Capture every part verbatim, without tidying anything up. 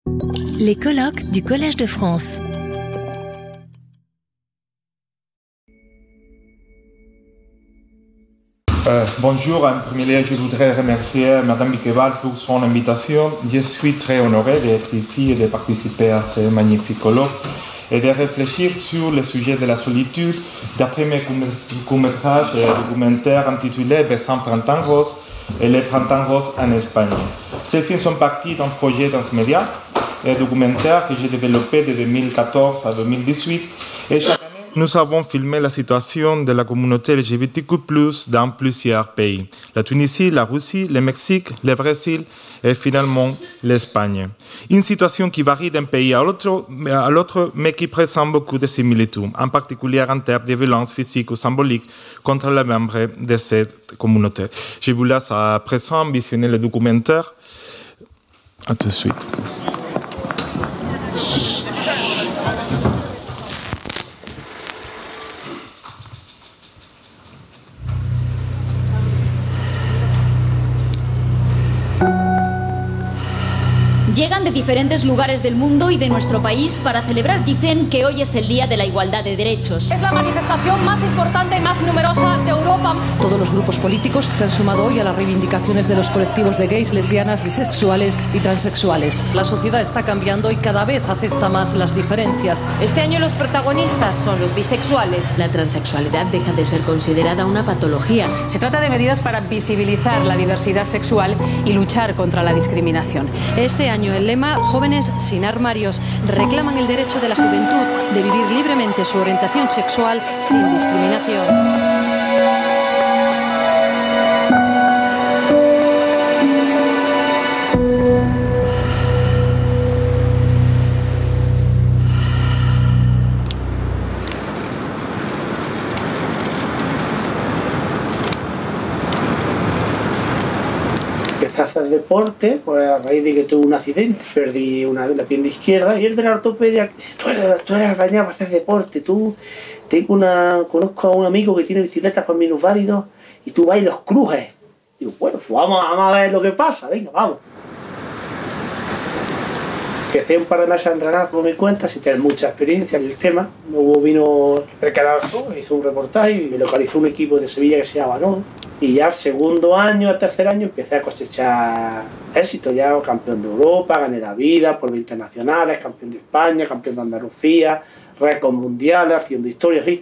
Les colloques du Collège de France. Euh, bonjour, en premier lieu, je voudrais remercier Madame Miqueval pour son invitation. Je suis très honoré d'être ici et de participer à ce magnifique colloque et de réfléchir sur le sujet de la solitude d'après mes courts-métrages et documentaires intitulés Besant Printemps Rose et Les Printemps Roses en Espagne. Ces films sont partis d'un projet transmédia et documentaire que j'ai développé de deux mille quatorze à deux mille dix-huit et chaque année, nous avons filmé la situation de la communauté L G B T Q plus, dans plusieurs pays. La Tunisie, la Russie, le Mexique, le Brésil et finalement l'Espagne. Une situation qui varie d'un pays à l'autre, à l'autre, mais qui présente beaucoup de similitudes, en particulier en termes de violences physiques ou symboliques contre les membres de cette communauté. Je vous laisse à présent visionner le documentaire. À tout de suite. Llegan de diferentes lugares del mundo y de nuestro país para celebrar, dicen, que hoy es el Día de la Igualdad de Derechos. Es la manifestación más importante y más numerosa de Europa. Todos los grupos políticos se han sumado hoy a las reivindicaciones de los colectivos de gays, lesbianas, bisexuales y transexuales. La sociedad está cambiando y cada vez acepta más las diferencias. Este año los protagonistas son los bisexuales. La transexualidad deja de ser considerada una patología. Se trata de medidas para visibilizar la diversidad sexual y luchar contra la discriminación. Este año el lema Jóvenes sin armarios reclaman el derecho de la juventud de vivir libremente su orientación sexual sin discriminación. Empecé a hacer deporte, pues a raíz de que tuve un accidente, perdí una, la pierna izquierda y el de la ortopedia, tú eres, tú eres arañado para hacer deporte, tú, tengo una, conozco a un amigo que tiene bicicletas para minusválidos y tú vas y los crujes. Digo, bueno, pues vamos, vamos a ver lo que pasa, venga, vamos. Empecé un par de meses a entrenar por mi cuenta sin tener mucha experiencia en el tema. Luego vino el Canal Sur, hizo un reportaje y me localizó un equipo de Sevilla que se llama Banón. Y ya al segundo año, al tercer año, empecé a cosechar éxito. Ya campeón de Europa, gané la vida, por internacionales, campeón de España, campeón de Andalucía, récord mundiales, haciendo historia, en fin.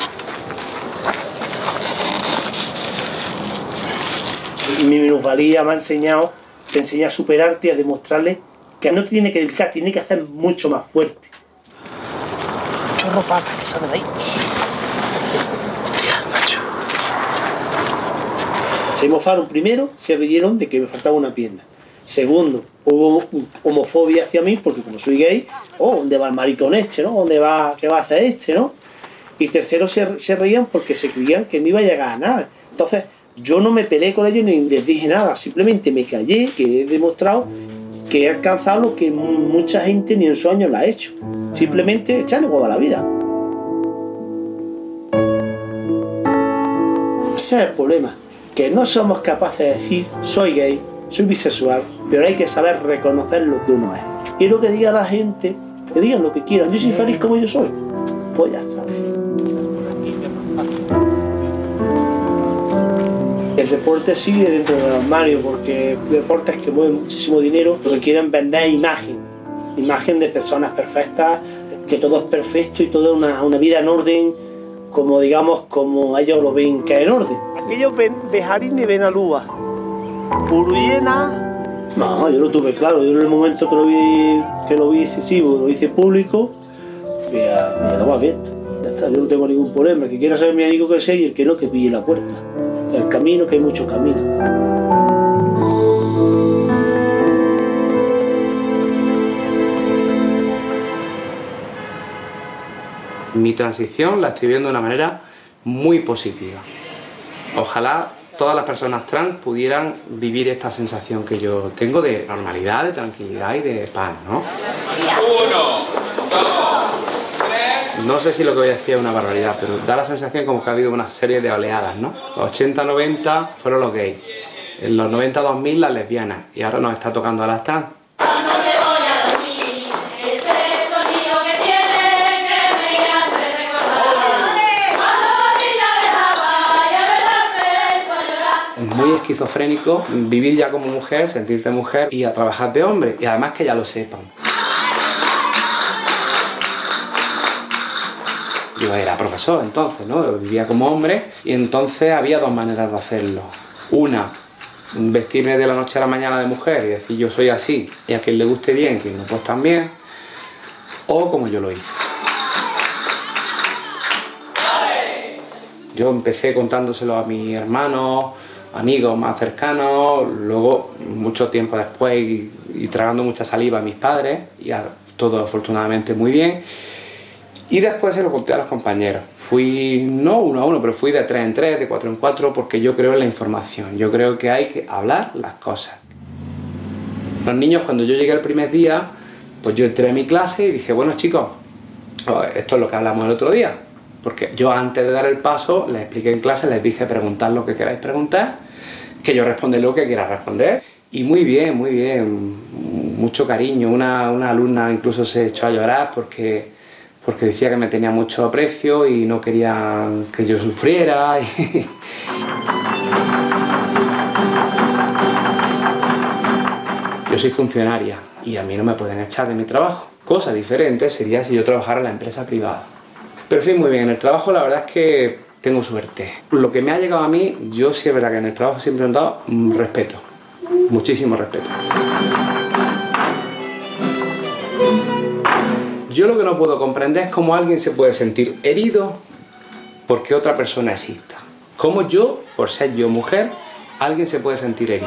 Y mi minusvalía me ha enseñado, te enseña a superarte y a demostrarle que no te tiene que dedicar, tiene que hacer mucho más fuerte. Chorro pata, que sale de ahí. Hostia, macho. Se mofaron primero, se rieron de que me faltaba una pierna. Segundo, hubo homofobia hacia mí, porque como soy gay, oh, ¿dónde va el maricón este, no? ¿Dónde va, qué va a hacer este, no? Y tercero, se, se reían porque se creían que no iba a llegar a nada. Entonces, yo no me peleé con ellos ni les dije nada, simplemente me callé, que he demostrado que he alcanzado lo que mucha gente ni en sueños la ha hecho. Simplemente echarle huevo a la vida. Ese es el problema, que no somos capaces de decir soy gay, soy bisexual, pero hay que saber reconocer lo que uno es. Y lo que diga la gente, que digan lo que quieran, yo soy feliz como yo soy, pues ya está. El deporte sigue dentro del armario porque deportes que mueven muchísimo dinero, lo que quieren vender es imagen, imagen de personas perfectas, que todo es perfecto y toda una, una vida en orden, como digamos, como ellos lo ven que es en orden. Aquellos ven Bejarín y Benalúa, Uruyena. No, yo lo tuve claro, yo en el momento que lo vi, que lo vi excesivo, lo hice público, ya, ya lo va abierto. Ya está, yo no tengo ningún problema, el que quiera ser mi amigo que sea y el que no, que pille la puerta. El camino, que hay muchos caminos. Mi transición la estoy viendo de una manera muy positiva. Ojalá todas las personas trans pudieran vivir esta sensación que yo tengo de normalidad, de tranquilidad y de paz, ¿no? Uno, dos, tres. No sé si lo que voy a decir es una barbaridad, pero da la sensación como que ha habido una serie de oleadas, ¿no? Los ochenta noventa fueron los gays, en los noventa dos mil las lesbianas, y ahora nos está tocando a las trans. No me voy a dormir. esquizofrénico vivir ya como mujer, sentirte mujer y a trabajar de hombre, y además que ya lo sepan. Yo era profesor entonces, ¿no? Vivía como hombre y entonces había dos maneras de hacerlo. Una, vestirme de la noche a la mañana de mujer y decir yo soy así y a quien le guste bien, quien no pues también, o como yo lo hice. Yo empecé contándoselo a mis hermanos, amigos más cercanos, luego mucho tiempo después y, y tragando mucha saliva a mis padres, y a, todo afortunadamente muy bien. Y después se lo conté a los compañeros. Fui, no uno a uno, pero fui de tres en tres, de cuatro en cuatro, porque yo creo en la información. Yo creo que hay que hablar las cosas. Los niños, cuando yo llegué el primer día, pues yo entré a mi clase y dije, bueno chicos, esto es lo que hablamos el otro día. Porque yo antes de dar el paso, les expliqué en clase, les dije preguntad lo que queráis preguntar, que yo responderé lo que quiera responder. Y muy bien, muy bien, mucho cariño. Una, una alumna incluso se echó a llorar porque... porque decía que me tenía mucho aprecio y no quería que yo sufriera. Y... Yo soy funcionaria y a mí no me pueden echar de mi trabajo. Cosa diferente sería si yo trabajara en la empresa privada. Pero en fin, muy bien, en el trabajo la verdad es que tengo suerte. Lo que me ha llegado a mí, yo sí es verdad que en el trabajo siempre he dado respeto, muchísimo respeto. Yo lo que no puedo comprender es cómo alguien se puede sentir herido porque otra persona exista. Cómo yo, por ser yo mujer, alguien se puede sentir herido.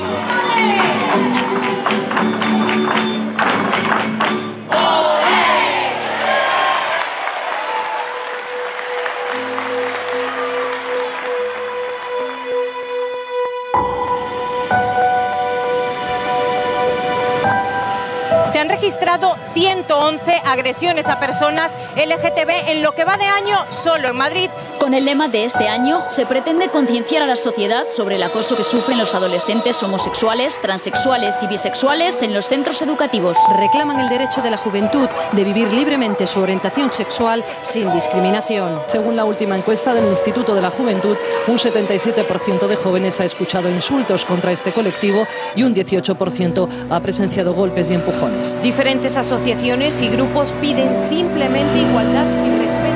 Se han registrado ciento once agresiones a personas L G T B en lo que va de año solo en Madrid. Con el lema de este año se pretende concienciar a la sociedad sobre el acoso que sufren los adolescentes homosexuales, transexuales y bisexuales en los centros educativos. Reclaman el derecho de la juventud de vivir libremente su orientación sexual sin discriminación. Según la última encuesta del Instituto de la Juventud, un setenta y siete por ciento de jóvenes ha escuchado insultos contra este colectivo y un dieciocho por ciento ha presenciado golpes y empujones. Diferentes asociaciones y grupos piden simplemente igualdad y respeto.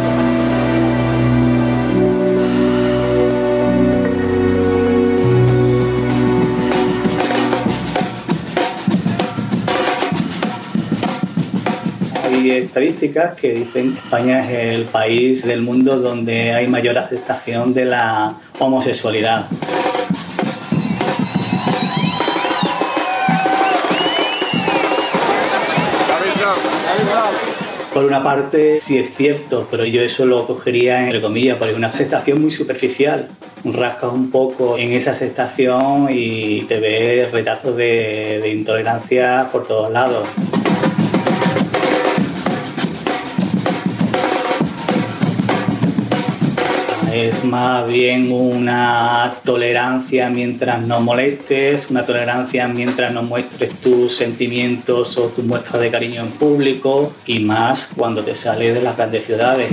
Hay estadísticas que dicen que España es el país del mundo donde hay mayor aceptación de la homosexualidad. Por una parte sí es cierto, pero yo eso lo cogería entre comillas, porque una aceptación muy superficial. Rascas un poco en esa aceptación y te ves retazos de, de intolerancia por todos lados. Es más bien una tolerancia mientras no molestes, una tolerancia mientras no muestres tus sentimientos o tus muestras de cariño en público, y más cuando te sales de las grandes ciudades.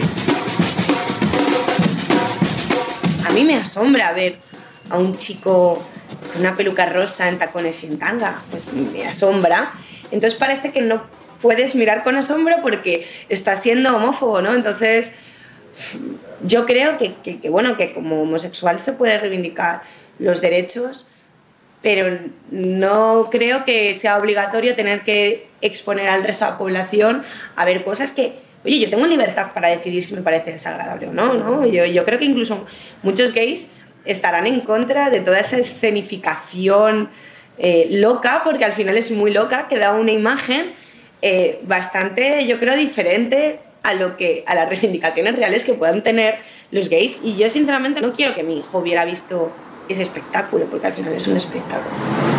A mí me asombra ver a un chico con una peluca rosa en tacones y en tanga, pues me asombra. Entonces parece que no puedes mirar con asombro porque estás siendo homófobo, ¿no? Entonces... yo creo que, que, que, bueno, que como homosexual se puede reivindicar los derechos, pero no creo que sea obligatorio tener que exponer al resto de la población a ver cosas que, oye, yo tengo libertad para decidir si me parece desagradable o no, ¿no? Yo, yo creo que incluso muchos gays estarán en contra de toda esa escenificación eh, loca, porque al final es muy loca, que da una imagen eh, bastante, yo creo, diferente a lo que a las reivindicaciones reales que puedan tener los gays. Y yo sinceramente no quiero que mi hijo hubiera visto ese espectáculo, porque al final es un espectáculo.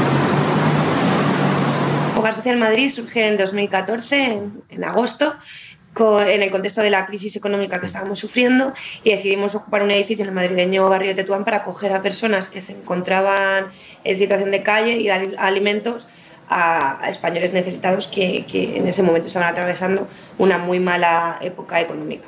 Hogar Social Madrid surge en dos mil catorce, en, en agosto, con, en el contexto de la crisis económica que estábamos sufriendo, y decidimos ocupar un edificio en el madrileño barrio de Tetuán para acoger a personas que se encontraban en situación de calle y dar alimentos a, a españoles necesitados que, que en ese momento estaban atravesando una muy mala época económica.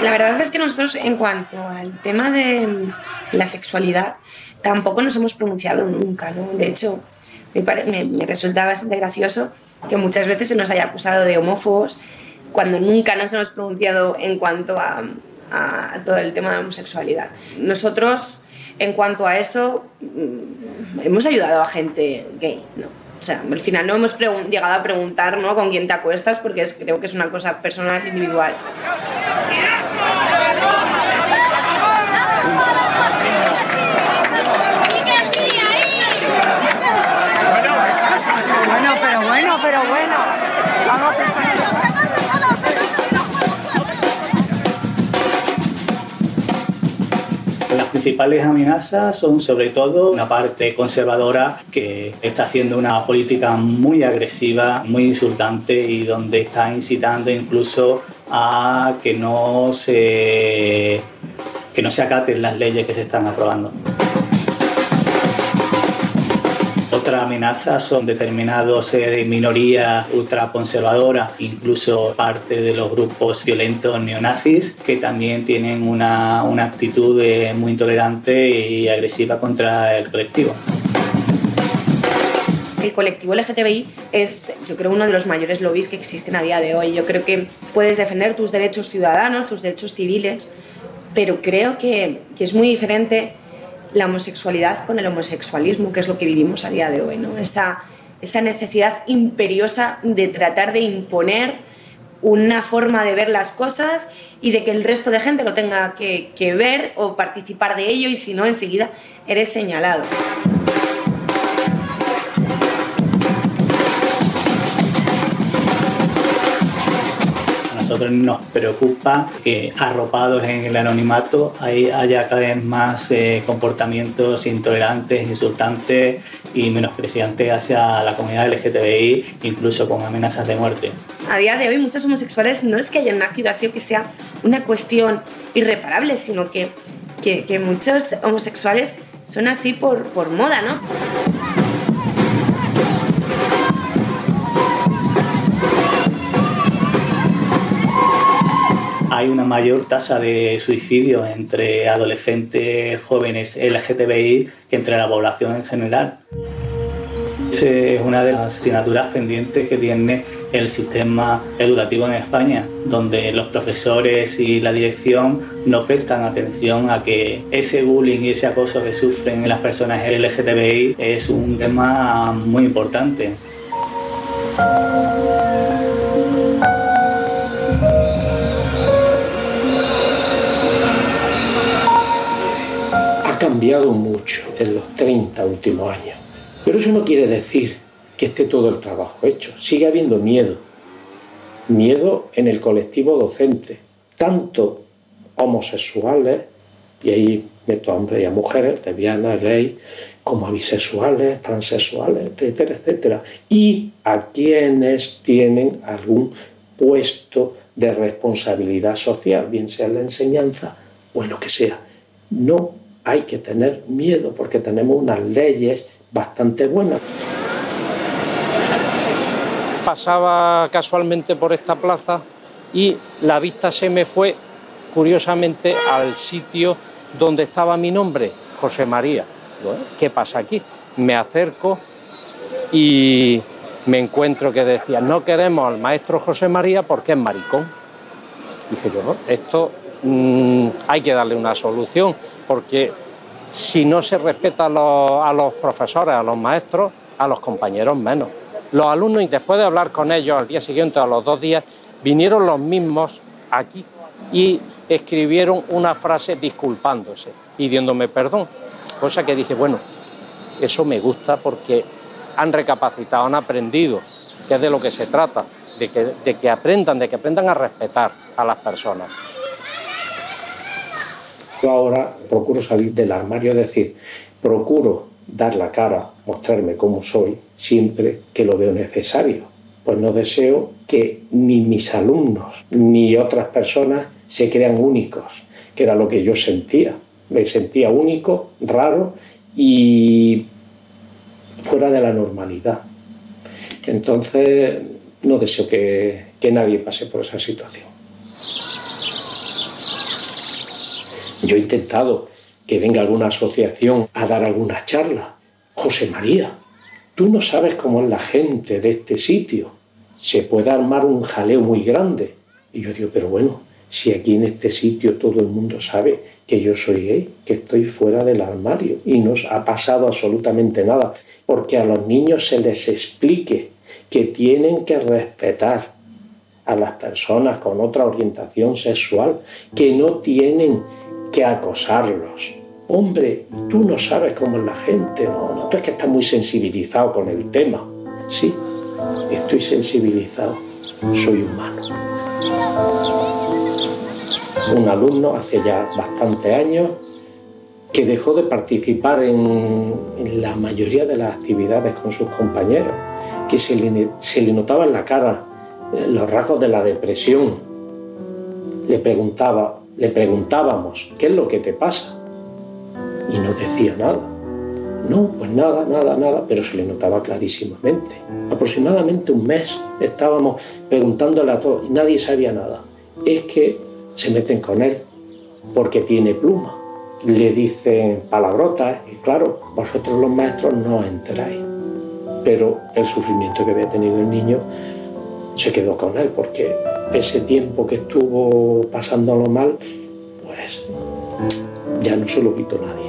La verdad es que nosotros, en cuanto al tema de la sexualidad, tampoco nos hemos pronunciado nunca, ¿no? De hecho, me, me, me resulta bastante gracioso que muchas veces se nos haya acusado de homófobos cuando nunca nos hemos pronunciado en cuanto a, a todo el tema de la homosexualidad. Nosotros, en cuanto a eso, hemos ayudado a gente gay, ¿no? O sea, al final no hemos llegado a preguntar, ¿no?, con quién te acuestas, porque es, creo que es una cosa personal, individual. Bueno, pero bueno, pero bueno. Vamos a... Las principales amenazas son sobre todo una parte conservadora que está haciendo una política muy agresiva, muy insultante y donde está incitando incluso a que no se, que no se acaten las leyes que se están aprobando. Otra amenaza son determinados eh, minorías ultraconservadoras, incluso parte de los grupos violentos neonazis, que también tienen una, una actitud eh, muy intolerante y agresiva contra el colectivo. El colectivo L G T B I es, yo creo, uno de los mayores lobbies que existen a día de hoy. Yo creo que puedes defender tus derechos ciudadanos, tus derechos civiles, pero creo que, que es muy diferente la homosexualidad con el homosexualismo, que es lo que vivimos a día de hoy, ¿no? Esa, esa necesidad imperiosa de tratar de imponer una forma de ver las cosas y de que el resto de gente lo tenga que, que ver o participar de ello, y si no, enseguida eres señalado. A nosotros nos preocupa que, arropados en el anonimato, haya cada vez más eh, comportamientos intolerantes, insultantes y menospreciantes hacia la comunidad L G T B I, incluso con amenazas de muerte. A día de hoy muchos homosexuales no es que hayan nacido así o que sea una cuestión irreparable, sino que, que, que muchos homosexuales son así por, por moda, ¿no? Hay una mayor tasa de suicidio entre adolescentes jóvenes L G T B I que entre la población en general. Es una de las asignaturas pendientes que tiene el sistema educativo en España, donde los profesores y la dirección no prestan atención a que ese bullying y ese acoso que sufren las personas L G T B I es un tema muy importante. Ha cambiado mucho en los treinta últimos años, pero eso no quiere decir que esté todo el trabajo hecho. Sigue habiendo miedo, miedo en el colectivo docente, tanto homosexuales, y ahí meto a hombres y a mujeres, lesbianas, gays, como a bisexuales, transexuales, etcétera, etcétera, y a quienes tienen algún puesto de responsabilidad social, bien sea en la enseñanza o en lo que sea. No hay que tener miedo porque tenemos unas leyes bastante buenas. Pasaba casualmente por esta plaza y la vista se me fue, curiosamente, al sitio donde estaba mi nombre, José María. ¿Qué pasa aquí? Me acerco y me encuentro que decía: no queremos al maestro José María porque es maricón. Dije yo, no, esto mmm, hay que darle una solución, porque si no se respeta a los, a los profesores, a los maestros, a los compañeros menos. Los alumnos, y después de hablar con ellos al día siguiente, a los dos días, vinieron los mismos aquí y escribieron una frase disculpándose, pidiéndome perdón. Cosa que dije, bueno, eso me gusta porque han recapacitado, han aprendido, que es de lo que se trata, de que, de que aprendan, de que aprendan a respetar a las personas. Yo ahora procuro salir del armario, es decir, procuro dar la cara, mostrarme cómo soy, siempre que lo veo necesario. Pues no deseo que ni mis alumnos ni otras personas se crean únicos, que era lo que yo sentía. Me sentía único, raro y fuera de la normalidad. Entonces no deseo que, que nadie pase por esa situación. Yo he intentado que venga alguna asociación a dar alguna charla. José María, tú no sabes cómo es la gente de este sitio. Se puede armar un jaleo muy grande. Y yo digo, pero bueno, si aquí en este sitio todo el mundo sabe que yo soy gay, que estoy fuera del armario y no ha pasado absolutamente nada, porque a los niños se les explique que tienen que respetar a las personas con otra orientación sexual, que no tienen que acosarlos. Hombre, tú no sabes cómo es la gente, no, no, tú es que estás muy sensibilizado con el tema. Sí, estoy sensibilizado, soy humano. Un alumno hace ya bastantes años que dejó de participar en, en la mayoría de las actividades con sus compañeros, que se le, se le notaba en la cara los rasgos de la depresión. Le preguntaba, le preguntábamos, ¿qué es lo que te pasa? Y no decía nada. No, pues nada, nada, nada, pero se le notaba clarísimamente. Aproximadamente un mes estábamos preguntándole a todos y nadie sabía nada. Es que se meten con él porque tiene pluma. Le dicen palabrotas y claro, vosotros los maestros no os enteráis. Pero el sufrimiento que había tenido el niño se quedó con él porque ese tiempo que estuvo pasándolo mal, pues ya no se lo quitó nadie.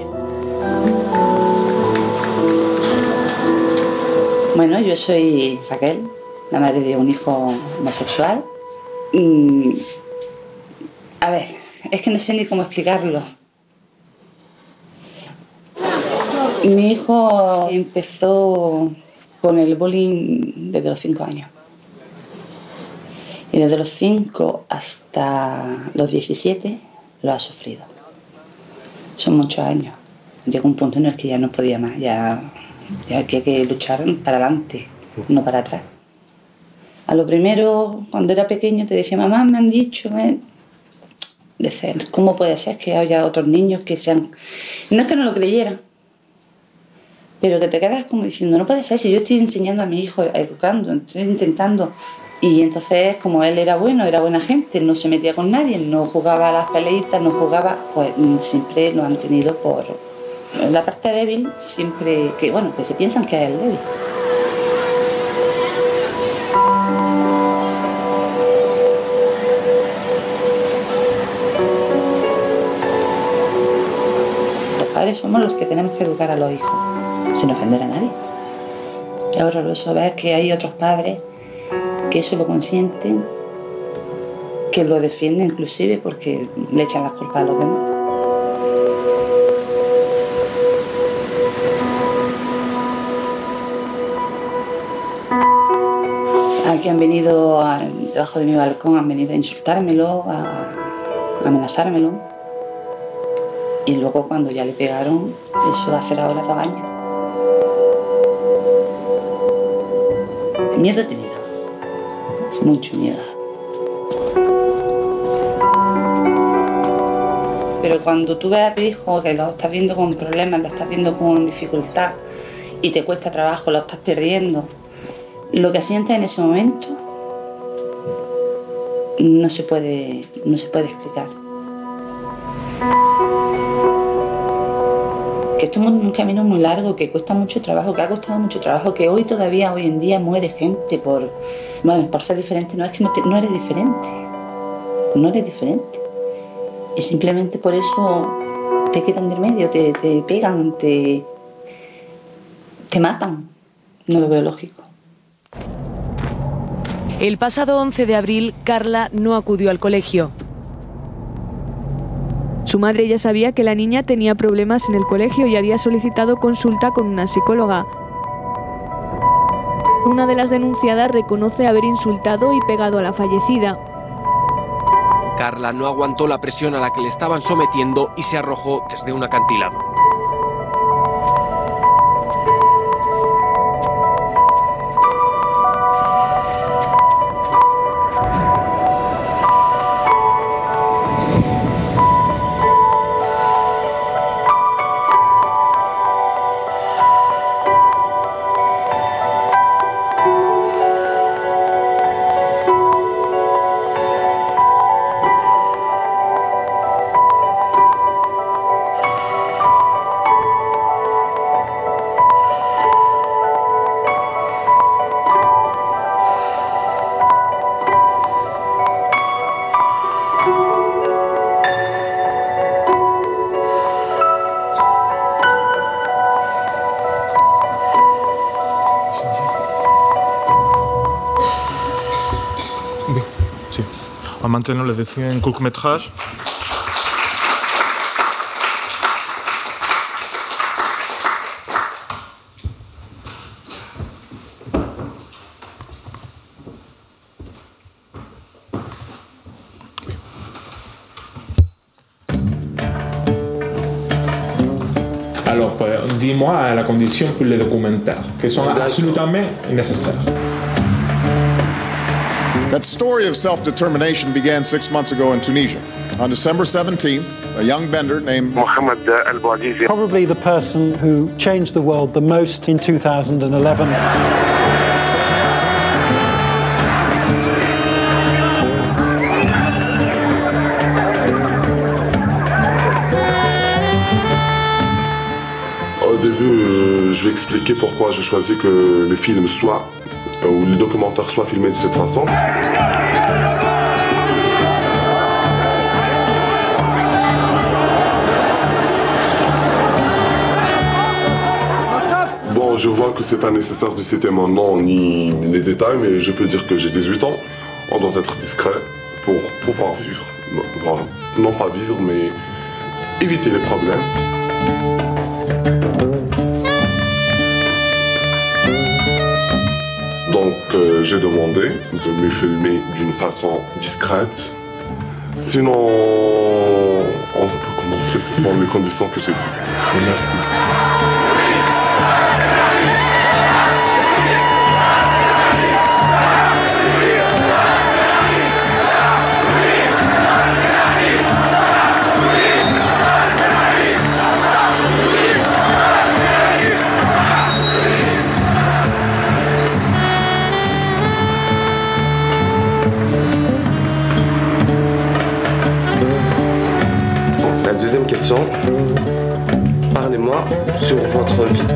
Bueno, yo soy Raquel, la madre de un hijo homosexual. Mm, a ver, es que no sé ni cómo explicarlo. Mi hijo empezó con el bullying desde los cinco años. Y desde los cinco hasta los diecisiete lo ha sufrido. Son muchos años. Llegó un punto en el que ya no podía más, ya, ya hay que luchar para adelante, no para atrás. A lo primero, cuando era pequeño, te decía, mamá, me han dicho, me... Decía, ¿cómo puede ser que haya otros niños que sean...? No es que no lo creyeran, pero que te quedas como diciendo, no puede ser, si yo estoy enseñando a mi hijo, educando, estoy intentando... Y entonces, como él era bueno, era buena gente, no se metía con nadie, no jugaba a las peleitas, no jugaba, pues siempre lo han tenido por la parte débil, siempre que, bueno, que se piensan que es el débil. Los padres somos los que tenemos que educar a los hijos, sin ofender a nadie. Y ahora lo sabes que hay otros padres que eso lo consienten, que lo defienden inclusive porque le echan las culpas a los demás. Aquí han venido, a, debajo de mi balcón, han venido a insultármelo, a, a amenazármelo. Y luego cuando ya le pegaron, eso va a hacer ahora dos años. Miedo he tenido. Es mucho miedo. Pero cuando tú ves a tu hijo que lo estás viendo con problemas, lo estás viendo con dificultad y te cuesta trabajo, lo estás perdiendo, lo que sientes en ese momento no se puede, no se puede explicar. Que esto es un camino muy largo, que cuesta mucho trabajo, que ha costado mucho trabajo, que hoy todavía, hoy en día, muere gente por, bueno, por ser diferente. No es que no, te, no eres diferente, no eres diferente. Y simplemente por eso te quitan del medio, te, te pegan, te, te matan. No lo veo lógico. El pasado once de abril, Carla no acudió al colegio. Su madre ya sabía que la niña tenía problemas en el colegio y había solicitado consulta con una psicóloga. Una de las denunciadas reconoce haber insultado y pegado a la fallecida. Carla no aguantó la presión a la que le estaban sometiendo y se arrojó desde un acantilado. Maintenant, le deuxième court-métrage. Alors, dis-moi la condition pour les documentaires, qui sont absolument nécessaires. That story of self-determination began six months ago in Tunisia. On December seventeenth, a young bender named Mohamed El Bouazizi, probably the person who changed the world the most in two thousand eleven. Au début, euh, je vais expliquer pourquoi j'ai choisi que les films soient, euh, ou les documentaires soient filmés de cette façon. Bon, je vois que c'est pas nécessaire de citer mon nom ni les détails, mais je peux dire que j'ai dix-huit ans. On doit être discret pour pouvoir vivre. Bon, non pas vivre, mais éviter les problèmes. Donc euh, j'ai demandé de me filmer d'une façon discrète. Sinon, on peut commencer, ce sont les conditions que j'ai dites. Deuxième question, parlez-moi sur votre vie.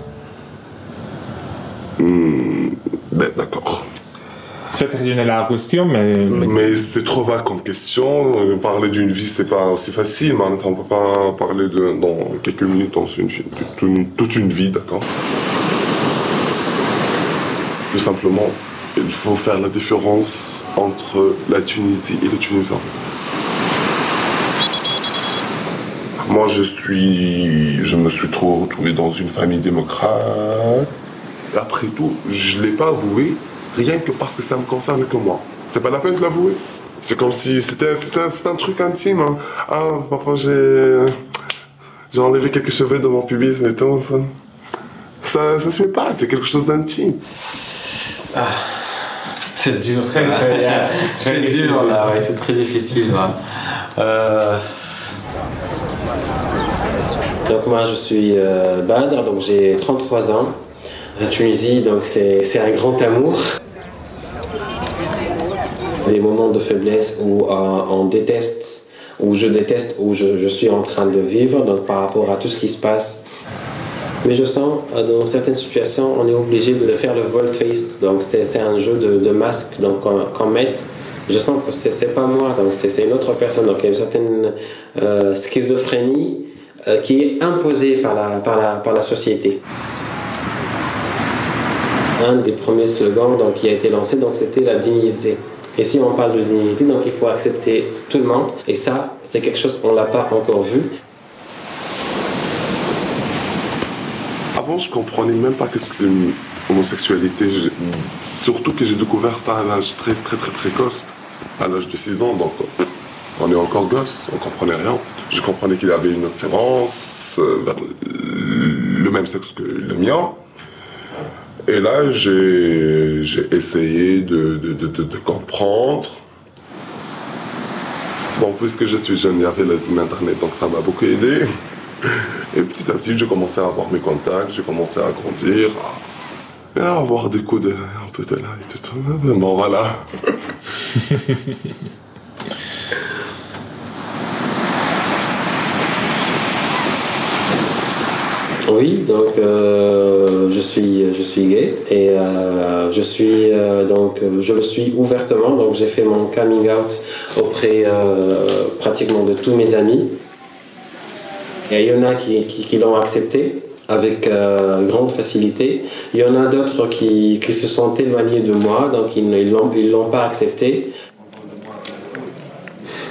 Mmh, ben d'accord. C'est très général la question, mais... Mais c'est trop vague comme question. Parler d'une vie, c'est pas aussi facile. Mais on ne peut pas parler de, dans quelques minutes, dans une, une, toute une vie, d'accord. Tout simplement, il faut faire la différence entre la Tunisie et le Tunisien. Moi, je suis, je me suis trop retrouvé dans une famille démocrate. Et après tout, je l'ai pas avoué, rien que parce que ça me concerne que moi. C'est pas la peine de l'avouer. C'est comme si c'était, c'est un, c'est un truc intime. Hein. Ah, papa, j'ai, j'ai enlevé quelques cheveux de mon pubis et tout. Ça, ça, ça se fait pas. C'est quelque chose d'intime. Ah, c'est dur. C'est très, c'est dur là. Ouais, c'est très difficile. Ouais. Euh... Donc moi je suis euh, Badr, donc j'ai trente-trois ans. La Tunisie, donc c'est, c'est un grand amour. Des moments de faiblesse où euh, on déteste, où je déteste, où je, je suis en train de vivre, donc par rapport à tout ce qui se passe. Mais je sens, euh, dans certaines situations, on est obligé de faire le volte-face. Donc c'est, c'est un jeu de, de masque donc, qu'on, qu'on met. Je sens que c'est, c'est pas moi, donc c'est, c'est une autre personne. Donc il y a une certaine euh, schizophrénie euh, qui est imposée par la, par, la, par la société. Un des premiers slogans donc, qui a été lancé, donc, c'était la dignité. Et si on parle de dignité, donc il faut accepter tout le monde. Et ça, c'est quelque chose qu'on ne l'a pas encore vu. Avant, je ne comprenais même pas ce que c'est une homosexualité. Surtout que j'ai découvert ça à l'âge très très très précoce, à l'âge de six ans. Donc on est encore gosse, on ne comprenait rien. Je comprenais qu'il y avait une attirance euh, vers le même sexe que le mien. Et là, j'ai, j'ai essayé de, de, de, de, de comprendre. Bon, puisque je suis jeune, il y avait l'internet, donc ça m'a beaucoup aidé. Et petit à petit, j'ai commencé à avoir mes contacts, j'ai commencé à grandir, à, et à avoir des coups de un peu de là et tout. Bon, voilà. Oui, donc euh, je suis je suis gay et euh, je suis euh, donc je le suis ouvertement. Donc j'ai fait mon coming out auprès euh, pratiquement de tous mes amis. Et il y en a qui, qui, qui l'ont accepté avec euh, grande facilité. Il y en a d'autres qui, qui se sont éloignés de moi, donc ils ne l'ont, ils l'ont pas accepté.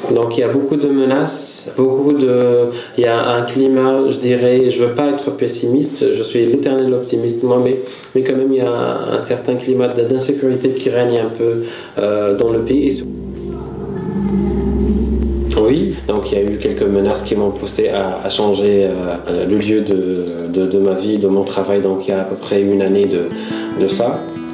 Donc il y a beaucoup de menaces, beaucoup de... il y a un climat, je dirais, je ne veux pas être pessimiste, je suis l'éternel optimiste moi, mais, mais quand même il y a un certain climat d'insécurité qui règne un peu euh, dans le pays. Oui, donc il y a eu quelques menaces qui m'ont poussé à, à changer euh, le lieu de, de, de ma vie, de mon travail, donc il y a à peu près une année de, de ça.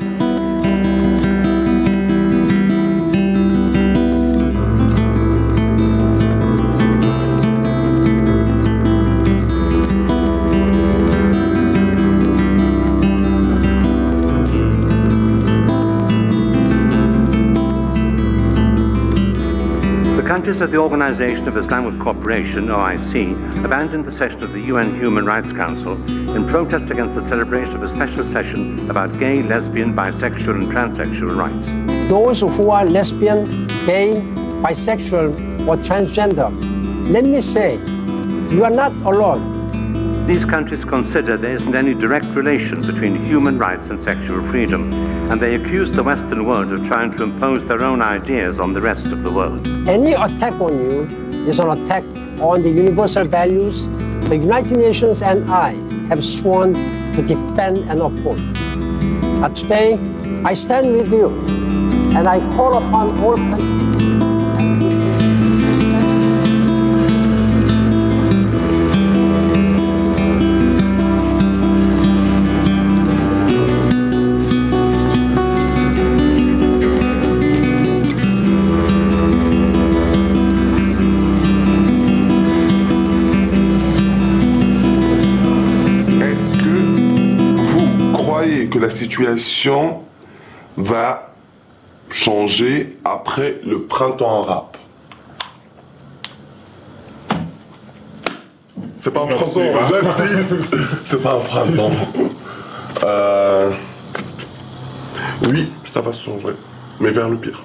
Countries of the Organisation of Islamic Cooperation, O I C, abandoned the session of the U N Human Rights Council in protest against the celebration of a special session about gay, lesbian, bisexual and transsexual rights. Those who are lesbian, gay, bisexual or transgender, let me say, you are not alone. These countries consider there isn't any direct relation between human rights and sexual freedom, and they accuse the Western world of trying to impose their own ideas on the rest of the world. Any attack on you is an attack on the universal values the United Nations and I have sworn to defend and uphold. But today, I stand with you, and I call upon all countries. Que la situation va changer après le printemps arabe. C'est pas un printemps, j'insiste, c'est pas un printemps. Euh... Oui, ça va changer, mais vers le pire.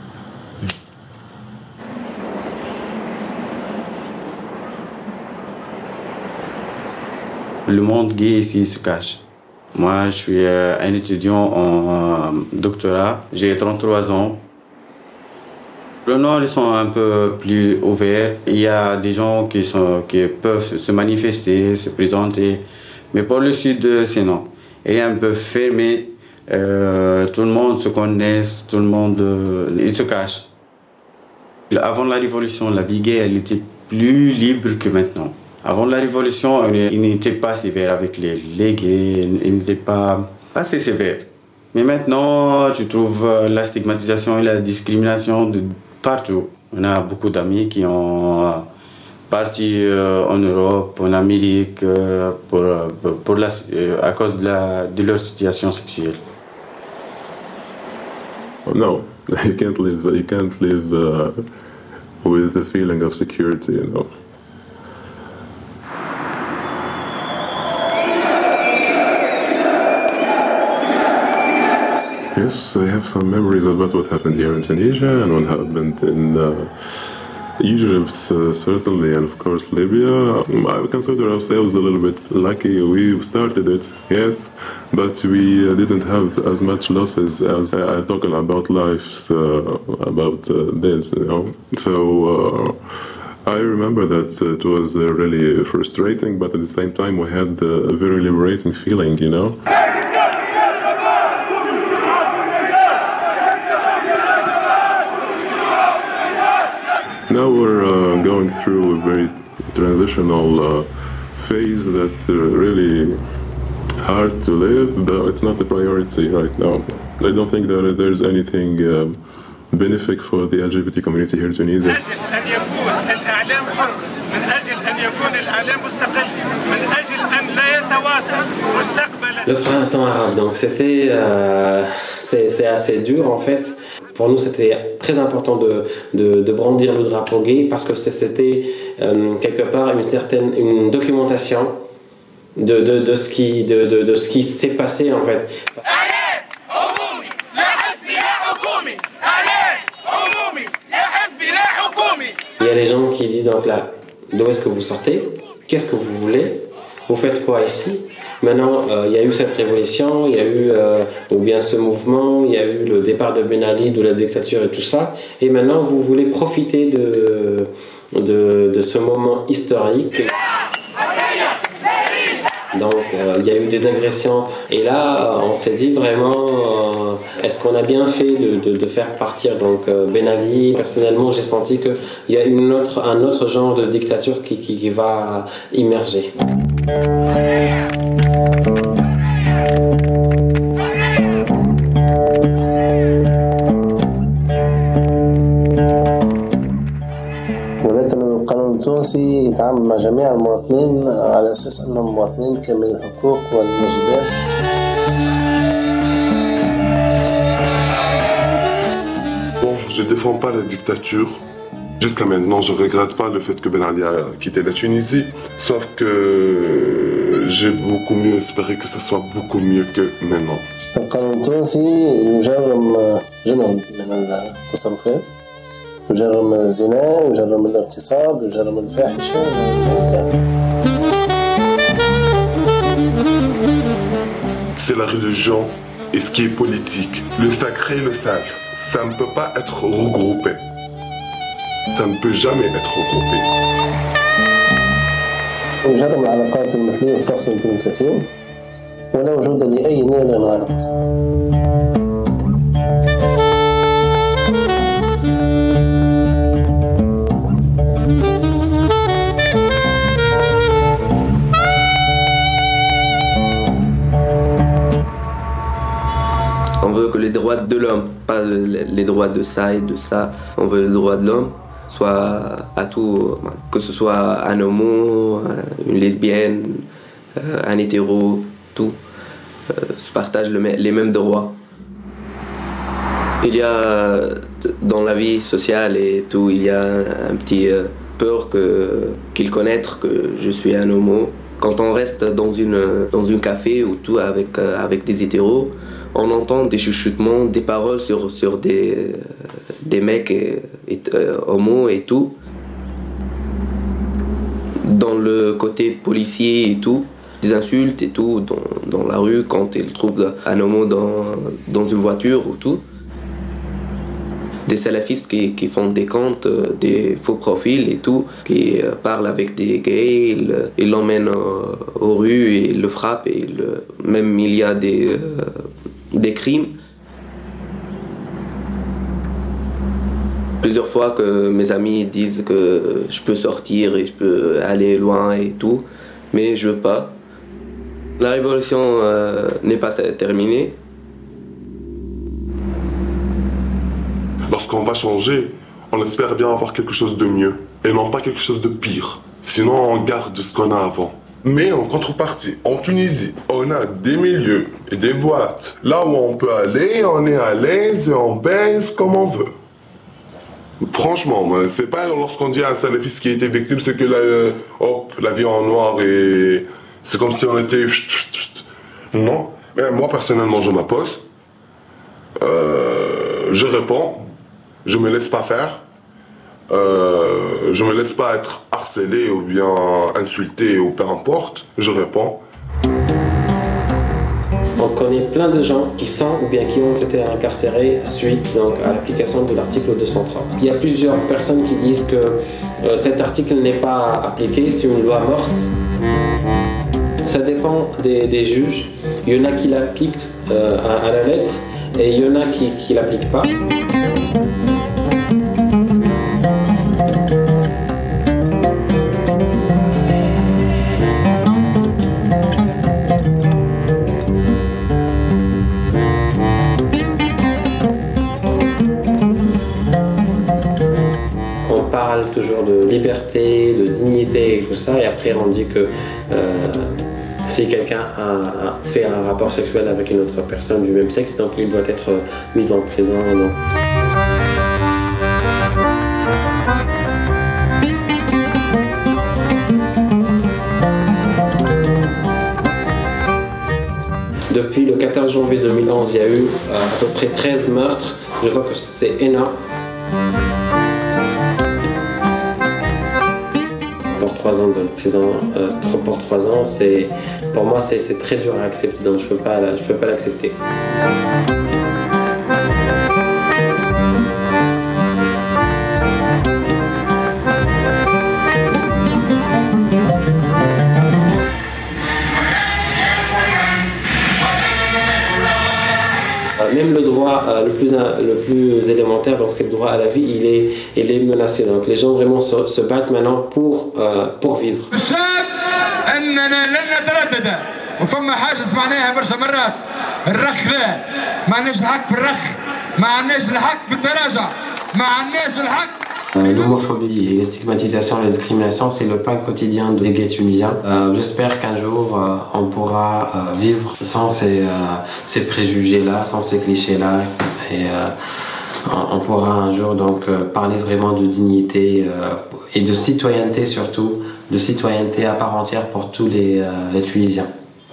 Le monde gay ici se cache. Moi, je suis un étudiant en doctorat, j'ai trente-trois ans. Le Nord, ils sont un peu plus ouverts. Il y a des gens qui, sont, qui peuvent se manifester, se présenter. Mais pour le Sud, c'est non. Il est un peu fermé. Euh, tout le monde se connaît, tout le monde euh, il se cache. Avant la Révolution, la vie gay, elle était plus libre que maintenant. Avant la Révolution, il n'était pas sévère avec les, les gays, il n'était pas assez sévère. Mais maintenant, je trouve la stigmatisation et la discrimination de partout. On a beaucoup d'amis qui ont parti en Europe, en Amérique, pour, pour la, à cause de, la, de leur situation sexuelle. No, you can't live, you can't live uh, with the feeling of security, you know. Yes, I have some memories about what happened here in Tunisia and what happened in uh, Egypt, uh, certainly, and of course Libya. I consider ourselves a little bit lucky. We started it, yes, but we uh, didn't have as much losses as I uh, talking about life, uh, about uh, this, you know. So uh, I remember that uh, it was uh, really frustrating, but at the same time we had uh, a very liberating feeling, you know. Now we're uh, going through a very transitional uh, phase that's uh, really hard to live, but it's not a priority right now. I don't think that there's anything um, benefic for the L G B T community here in Tunisia. Le printemps arabe, donc c'était, euh, c'est assez dur en fait. Pour nous, c'était très important de, de, de brandir le drapeau gay parce que c'était euh, quelque part une certaine une documentation de, de, de ce qui, de, de, de ce qui s'est passé en fait. Il y a des gens qui disent donc là, d'où est-ce que vous sortez? Qu'est-ce que vous voulez? vous faites quoi ici? Maintenant, euh, il y a eu cette révolution, il y a eu, euh, ou bien ce mouvement, il y a eu le départ de Ben Ali, de la dictature et tout ça, et maintenant vous voulez profiter de, de, de ce moment historique. Donc euh, il y a eu des agressions et là on s'est dit vraiment euh, est-ce qu'on a bien fait de, de, de faire partir donc euh, Ben Ali. Personnellement j'ai senti qu'il y a une autre, un autre genre de dictature qui, qui, qui va immerger. ولكن القانون التونسي يتعامل مع جميع المواطنين على أساس أنهم مواطنين كاملي الحقوق والواجبات. Bon, je défends pas la dictature. Jusqu'à maintenant, je regrette pas le fait que Ben Ali a quitté la Tunisie. Sauf que j'ai beaucoup mieux espéré que ça soit beaucoup mieux que maintenant. القانون التونسي يجرم جمل من التصرفات، يجرم الزنا، يجرم الاغتصاب، يجرم الفاحشة. C'est la religion et ce qui est politique. Le sacré et le sale, ça ne peut pas être regroupé. Ça ne peut jamais être regroupé. يجرم العلاقات المثلية في فصل اثنين وثلاثين ولا وجود لأي نوع من أنواع القسم. On veut que les droits de l'homme, pas les droits de ça et de ça, on veut les droits de l'homme, soit à tout, que ce soit un homo, une lesbienne, un hétéro, tout, se partagent les mêmes droits. Il y a dans la vie sociale et tout, il y a un petit peur que, qu'ils connaissent que je suis un homo. Quand on reste dans une dans un café ou tout avec avec des hétéros, on entend des chuchotements, des paroles sur sur des des mecs et, et, euh, homo et tout. Dans le côté policier et tout, des insultes et tout dans, dans la rue quand ils trouvent un homo dans dans une voiture ou tout. Des salafistes qui, qui font des comptes, des faux profils et tout, qui parlent avec des gays, ils, ils l'emmènent aux rues et ils le frappent. Et ils, même il y a des, euh, des crimes. Plusieurs fois que mes amis disent que je peux sortir et je peux aller loin et tout, mais je veux pas. La révolution euh, n'est pas terminée. Lorsqu'on va changer, on espère bien avoir quelque chose de mieux et non pas quelque chose de pire. Sinon, on garde ce qu'on a avant. Mais en contrepartie, en Tunisie, on a des milieux et des boîtes. Là où on peut aller, on est à l'aise et on baise comme on veut. Franchement, c'est pas lorsqu'on dit à un salafiste qui a été victime, c'est que la, hop, la vie en noir et c'est comme si on était... Non. Mais moi, personnellement, je m'oppose. Euh, je réponds. Je me laisse pas faire, euh, je me laisse pas être harcelé ou bien insulté ou peu importe, je réponds. On connaît plein de gens qui sont ou bien qui ont été incarcérés suite donc, à l'application de l'article deux cent trois. Il y a plusieurs personnes qui disent que euh, cet article n'est pas appliqué, c'est une loi morte. Ça dépend des, des juges. Il y en a qui l'appliquent euh, à, à la lettre et il y en a qui ne l'appliquent pas. Toujours de liberté, de dignité et tout ça, et après on dit que euh, si quelqu'un a, a fait un rapport sexuel avec une autre personne du même sexe, donc il doit être mis en prison. Donc. Depuis le quatorze janvier deux mille onze, il y a eu à peu près treize meurtres. Je vois que c'est énorme. Pour trois ans de prison euh, pour trois ans, c'est, pour moi c'est, c'est très dur à accepter, donc je peux pas, je peux pas l'accepter. Même le droit euh, le, plus, le plus élémentaire, donc c'est le droit à la vie, il est, il est menacé. Donc les gens vraiment se, se battent maintenant pour, euh, pour vivre. Euh, L'homophobie, les stigmatisations, les discriminations, c'est le pain quotidien des gays tunisiens. Euh, j'espère qu'un jour, euh, on pourra euh, vivre sans ces, euh, ces préjugés-là, sans ces clichés-là. Et euh, on, on pourra un jour donc euh, parler vraiment de dignité euh, et de citoyenneté surtout, de citoyenneté à part entière pour tous les, euh, les Tunisiens.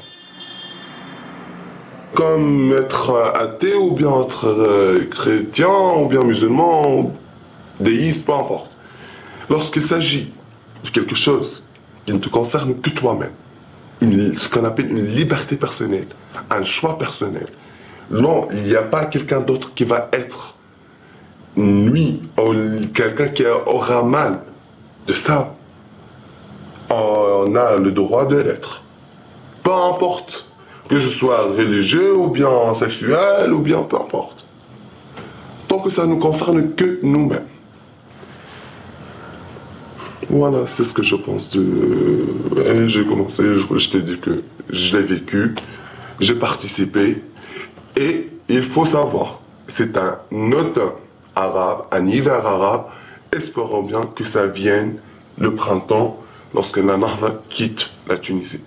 Comme être athée ou bien être euh, chrétien ou bien musulman, déiste, peu importe. Lorsqu'il s'agit de quelque chose qui ne te concerne que toi-même, une, ce qu'on appelle une liberté personnelle, un choix personnel, non, il n'y a pas quelqu'un d'autre qui va être lui, ou quelqu'un qui aura mal de ça. On a le droit de l'être. Peu importe, que ce soit religieux ou bien sexuel ou bien peu importe. Tant que ça ne nous concerne que nous-mêmes. Voilà, c'est ce que je pense de... Et j'ai commencé, je, je t'ai dit que je l'ai vécu, j'ai participé, et il faut savoir, c'est un automne arabe, un hiver arabe, espérons bien que ça vienne le printemps, lorsque la Nahda quitte la Tunisie.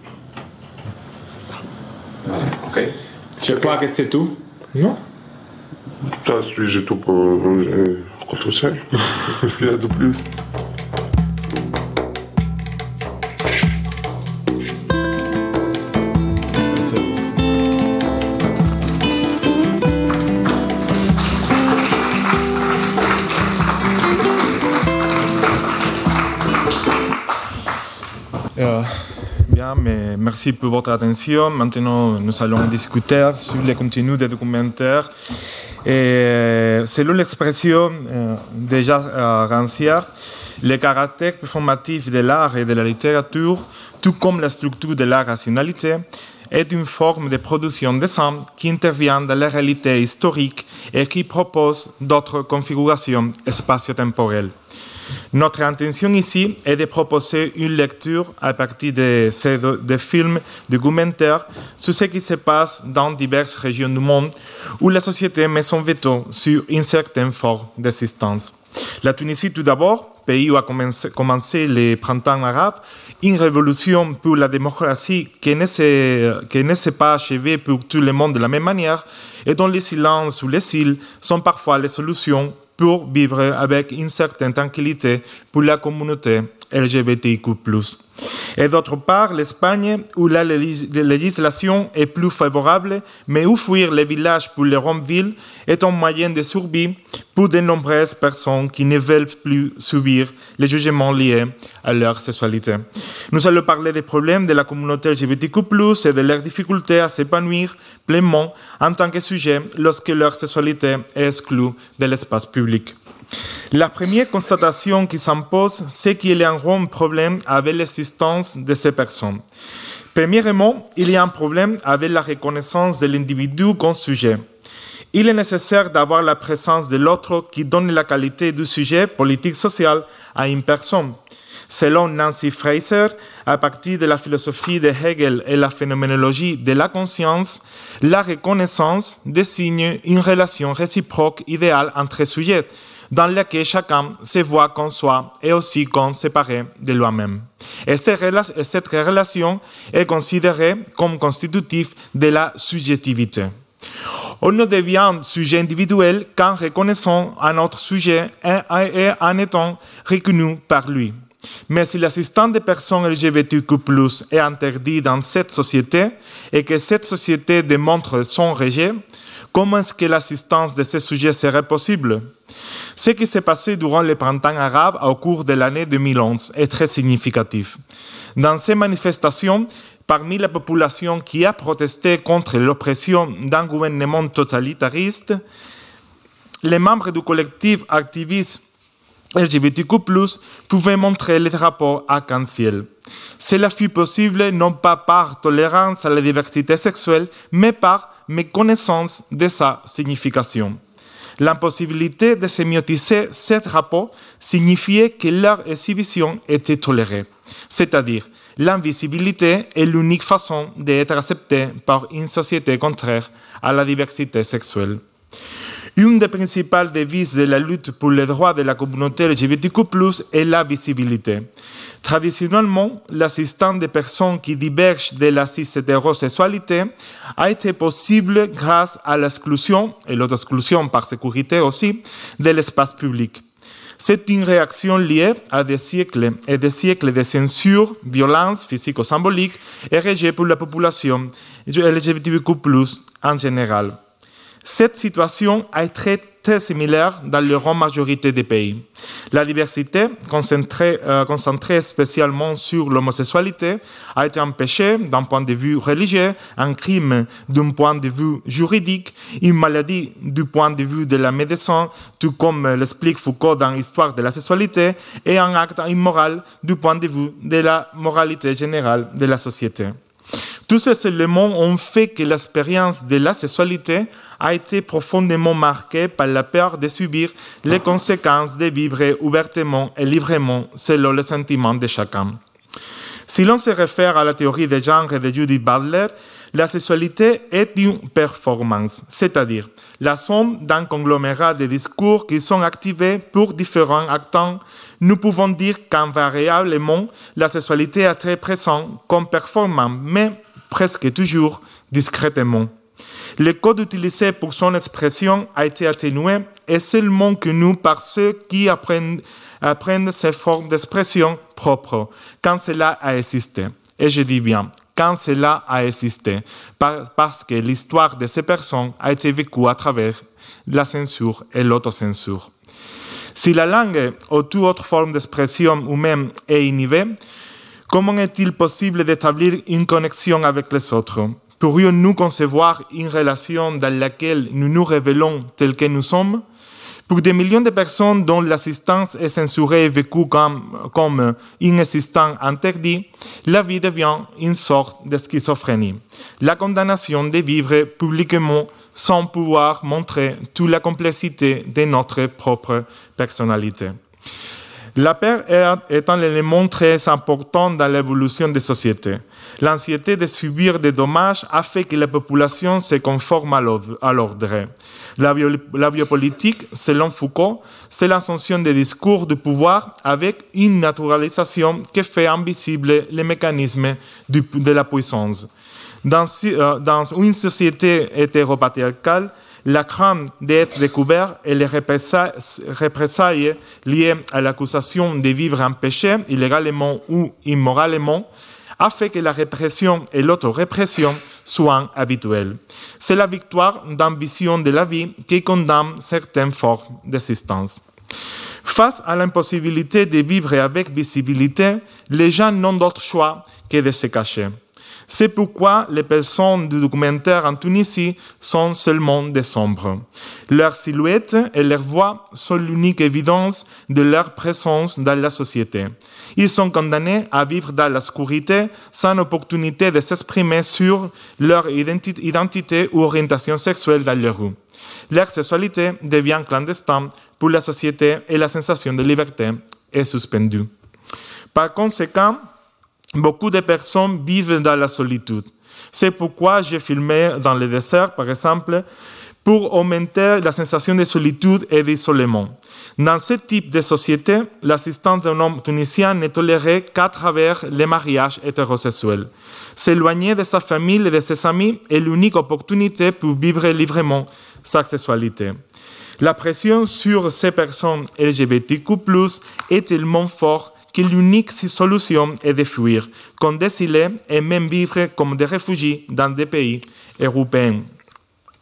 Ok. Je crois que c'est tout, non? Ça, suis-je tout pour... Qu'est-ce qu'il y a de plus? Euh, bien, mais merci pour votre attention. Maintenant, nous allons discuter sur le contenu des documentaires. Et selon l'expression euh, déjà euh, rancière, le caractère performatif de l'art et de la littérature, tout comme la structure de la rationalité, est une forme de production des âmes qui intervient dans la réalité historique et qui propose d'autres configurations spatio-temporelles. Notre intention ici est de proposer une lecture à partir de ces de films documentaires sur ce qui se passe dans diverses régions du monde où la société met son veto sur une certaine forme d'existence. La Tunisie tout d'abord, pays où a commencé, commencé le printemps arabe, une révolution pour la démocratie qui ne s'est, qui ne s'est pas achevée pour tout le monde de la même manière et dont les silences ou les cils sont parfois les solutions pour vivre avec une certaine tranquillité pour la communauté L G B T Q plus. Et d'autre part, l'Espagne, où la législation est plus favorable, mais où fuir les villages pour les grandes villes est un moyen de survie pour de nombreuses personnes qui ne veulent plus subir les jugements liés à leur sexualité. Nous allons parler des problèmes de la communauté L G B T Q plus, et de leurs difficultés à s'épanouir pleinement en tant que sujet lorsque leur sexualité est exclue de l'espace public. La première constatation qui s'impose, c'est qu'il y a un grand problème avec l'existence de ces personnes. Premièrement, il y a un problème avec la reconnaissance de l'individu comme sujet. Il est nécessaire d'avoir la présence de l'autre qui donne la qualité du sujet politique-social à une personne. Selon Nancy Fraser, à partir de la philosophie de Hegel et la phénoménologie de la conscience, la reconnaissance désigne une relation réciproque idéale entre sujets, dans laquelle chacun se voit comme soi et aussi comme séparé de lui-même. Et cette relation est considérée comme constitutive de la subjectivité. On ne devient sujet individuel qu'en reconnaissant un autre sujet et en étant reconnu par lui. Mais si l'assistance des personnes L G B T Q plus, est interdit dans cette société et que cette société démontre son rejet, comment est-ce que l'assistance de ces sujets serait possible? Ce qui s'est passé durant le printemps arabe au cours de l'année deux mille onze est très significatif. Dans ces manifestations, parmi la population qui a protesté contre l'oppression d'un gouvernement totalitariste, les membres du collectif activiste L G B T Q plus, pouvaient montrer les drapeaux arc-en-ciel. Cela fut possible non pas par tolérance à la diversité sexuelle, mais par méconnaissance de sa signification. L'impossibilité de sémiotiser ces drapeaux signifiait que leur exhibition était tolérée, c'est-à-dire l'invisibilité est l'unique façon d'être acceptée par une société contraire à la diversité sexuelle. Une des principales devises de la lutte pour les droits de la communauté L G B T Q plus, est la visibilité. Traditionnellement, l'assistance des personnes qui divergent de la cis-hétérosexualité a été possible grâce à l'exclusion, et l'autexclusion par sécurité aussi, de l'espace public. C'est une réaction liée à des siècles et des siècles de censure, violence physico-symbolique et rejet pour la population L G B T Q plus en général. Cette situation est très, très similaire dans la grande majorité des pays. La diversité, concentrée, euh, concentrée spécialement sur l'homosexualité, a été empêchée d'un point de vue religieux, un crime d'un point de vue juridique, une maladie du point de vue de la médecine, tout comme l'explique Foucault dans l'Histoire de la sexualité, et un acte immoral du point de vue de la moralité générale de la société. Tous ces éléments ont fait que l'expérience de la sexualité a été profondément marquée par la peur de subir les conséquences de vivre ouvertement et librement selon les sentiments de chacun. Si l'on se réfère à la théorie des genres de Judith Butler, la sexualité est une performance, c'est-à-dire la somme d'un conglomérat de discours qui sont activés pour différents acteurs. Nous pouvons dire qu'invariablement, la sexualité est très présente comme performant, mais presque toujours discrètement. Le code utilisé pour son expression a été atténué et seulement connu par ceux qui apprennent, apprennent ces formes d'expression propres, quand cela a existé. Et je dis bien, quand cela a existé, parce que l'histoire de ces personnes a été vécue à travers la censure et l'autocensure. Si la langue ou toute autre forme d'expression humaine est inhibée, comment est-il possible d'établir une connexion avec les autres? Pourrions-nous concevoir une relation dans laquelle nous nous révélons tels que nous sommes? Pour des millions de personnes dont l'assistance est censurée et vécue comme, comme inexistant interdit, la vie devient une sorte de schizophrénie. La condamnation de vivre publiquement sans pouvoir montrer toute la complexité de notre propre personnalité. La peur est un élément très important dans l'évolution des sociétés. L'anxiété de subir des dommages a fait que la population se conforme à l'ordre. La, bio, la biopolitique, selon Foucault, c'est l'ascension des discours du pouvoir avec une naturalisation qui fait invisible les mécanismes du, de la puissance. Dans, dans une société hétéropatriarcale, la crainte d'être découvert et les représailles liées à l'accusation de vivre un péché, illégalement ou immoralement, a fait que la répression et l'autorépression soient habituelles. C'est la victoire d'une vision de la vie qui condamne certaines formes d'existence. Face à l'impossibilité de vivre avec visibilité, les gens n'ont d'autre choix que de se cacher. C'est pourquoi les personnes du documentaire en Tunisie sont seulement des ombres. Leur silhouette et leur voix sont l'unique évidence de leur présence dans la société. Ils sont condamnés à vivre dans l'obscurité sans opportunité de s'exprimer sur leur identi- identité ou orientation sexuelle dans les rues. Leur sexualité devient clandestine pour la société et la sensation de liberté est suspendue. Par conséquent, beaucoup de personnes vivent dans la solitude. C'est pourquoi j'ai filmé dans le désert, par exemple, pour augmenter la sensation de solitude et d'isolement. Dans ce type de société, l'assistance d'un homme tunisien n'est tolérée qu'à travers les mariages hétérosexuels. S'éloigner de sa famille et de ses amis est l'unique opportunité pour vivre librement sa sexualité. La pression sur ces personnes L G B T Q plus, est tellement forte que l'unique solution est de fuir, comme d'exiler et même vivre comme des réfugiés dans des pays européens.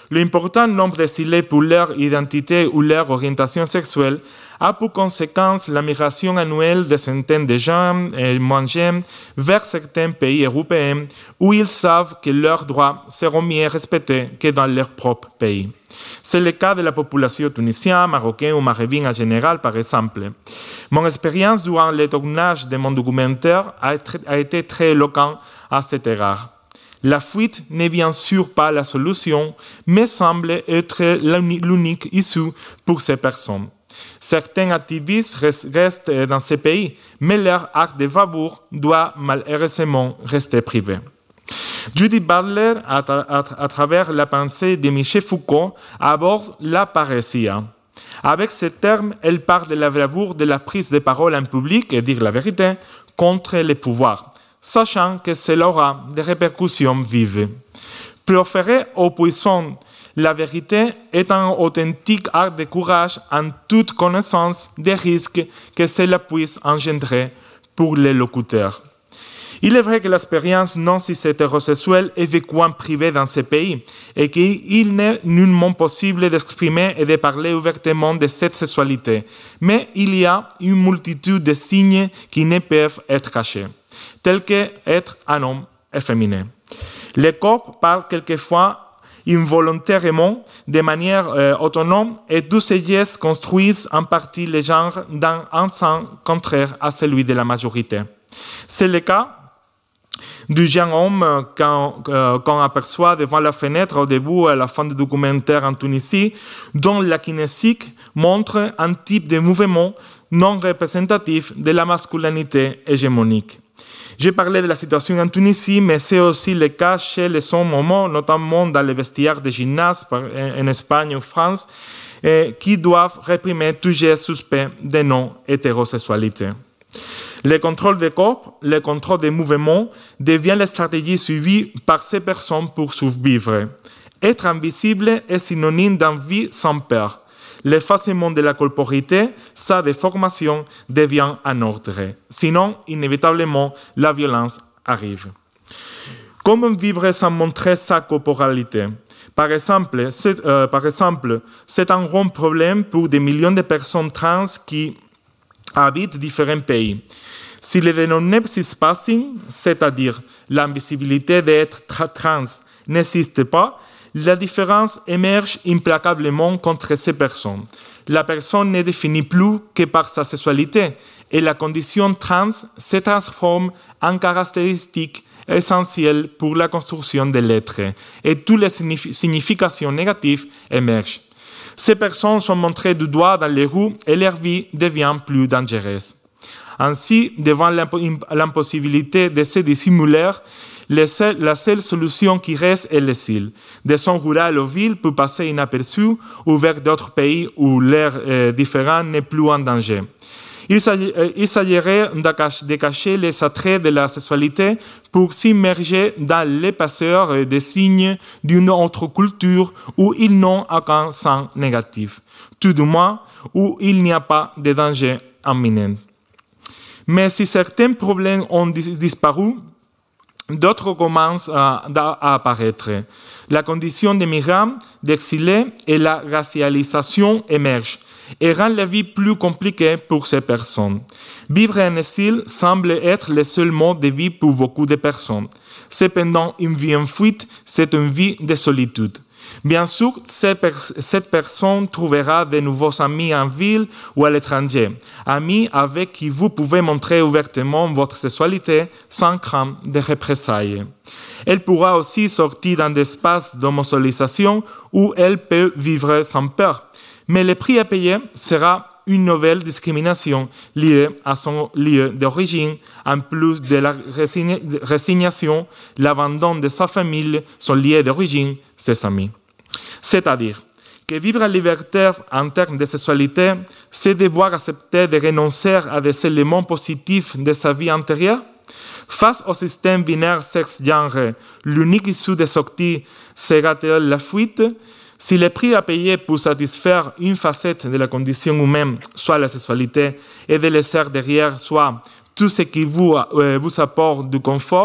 L'important nombre d'exilés pour leur identité ou leur orientation sexuelle a pour conséquence la migration annuelle de centaines de jeunes et moins jeunes vers certains pays européens où ils savent que leurs droits seront mieux respectés que dans leur propre pays. C'est le cas de la population tunisienne, marocaine ou maghrébine en général, par exemple. Mon expérience durant le tournage de mon documentaire a été très éloquente à cet égard. La fuite n'est bien sûr pas la solution, mais semble être l'unique issue pour ces personnes. Certains activistes restent dans ces pays, mais leur acte de bravoure doit malheureusement rester privé. Judith Butler, à, à, à travers la pensée de Michel Foucault, aborde la parésia. Avec ce terme, elle parle de la bravoure de la prise de parole en public et dire la vérité contre les pouvoirs, sachant que cela aura des répercussions vives. Proférer aux puissants la vérité est un authentique acte de courage en toute connaissance des risques que cela puisse engendrer pour les locuteurs. Il est vrai que l'expérience non cis-hétérosexuelle est vécue en privé dans ces pays et qu'il n'est nullement possible d'exprimer et de parler ouvertement de cette sexualité. Mais il y a une multitude de signes qui ne peuvent être cachés, tels qu'être un homme efféminé. Le corps parle quelquefois involontairement, de manière euh, autonome, et tous ces gestes construisent en partie le genre dans un sens contraire à celui de la majorité. C'est le cas du jeune homme qu'on, euh, qu'on aperçoit devant la fenêtre au début et à la fin du documentaire en Tunisie, dont la kinésique montre un type de mouvement non représentatif de la masculinité hégémonique. J'ai parlé de la situation en Tunisie, mais c'est aussi le cas chez les hommes homo, notamment dans les vestiaires de gymnase en Espagne ou France, qui doivent réprimer tout geste suspect de non-hétérosexualité. Le contrôle des corps, le contrôle des mouvements devient la stratégie suivie par ces personnes pour survivre. Être invisible est synonyme d'envie sans peur. L'effacement de la corporité, sa déformation, devient un ordre. Sinon, inévitablement, la violence arrive. Comment vivre sans montrer sa corporalité? Par exemple, c'est, euh, par exemple, c'est un grand problème pour des millions de personnes trans qui habitent différents pays. Si le dénommé cispassing, c'est-à-dire l'invisibilité d'être trans, n'existe pas, la différence émerge implacablement contre ces personnes. La personne n'est définie plus que par sa sexualité et la condition trans se transforme en caractéristique essentielle pour la construction de l'être et toutes les significations négatives émergent. Ces personnes sont montrées du doigt dans les rues et leur vie devient plus dangereuse. Ainsi, devant l'impossibilité de se dissimuler, la seule solution qui reste est l'exil. Des zones rurales aux villes pour passer inaperçues ou vers d'autres pays où l'air euh, différent n'est plus en danger. Il s'agirait de cacher les attraits de la sexualité pour s'immerger dans l'épaisseur des signes d'une autre culture où ils n'ont aucun sens négatif, tout du moins où il n'y a pas de danger imminent. Mais si certains problèmes ont disparu, d'autres commencent à, à apparaître. La condition des migrants, d'exilés et la racialisation émergent et rend la vie plus compliquée pour ces personnes. Vivre en exil semble être le seul mode de vie pour beaucoup de personnes. Cependant, une vie en fuite, c'est une vie de solitude. Bien sûr, cette personne trouvera de nouveaux amis en ville ou à l'étranger, amis avec qui vous pouvez montrer ouvertement votre sexualité sans crainte de représailles. Elle pourra aussi sortir dans des espaces d'homosexualisation où elle peut vivre sans peur. Mais le prix à payer sera une nouvelle discrimination liée à son lieu d'origine, en plus de la résignation, l'abandon de sa famille, son lieu d'origine, ses amis. C'est-à-dire que vivre en liberté en termes de sexualité, c'est devoir accepter de renoncer à des éléments positifs de sa vie antérieure. Face au système binaire sexe-genre, l'unique issue de sortie sera-t-elle la fuite? Si le prix à payer pour satisfaire une facette de la condition humaine, soit la sexualité, et de laisser derrière soit tout ce qui vous, euh, vous apporte du confort,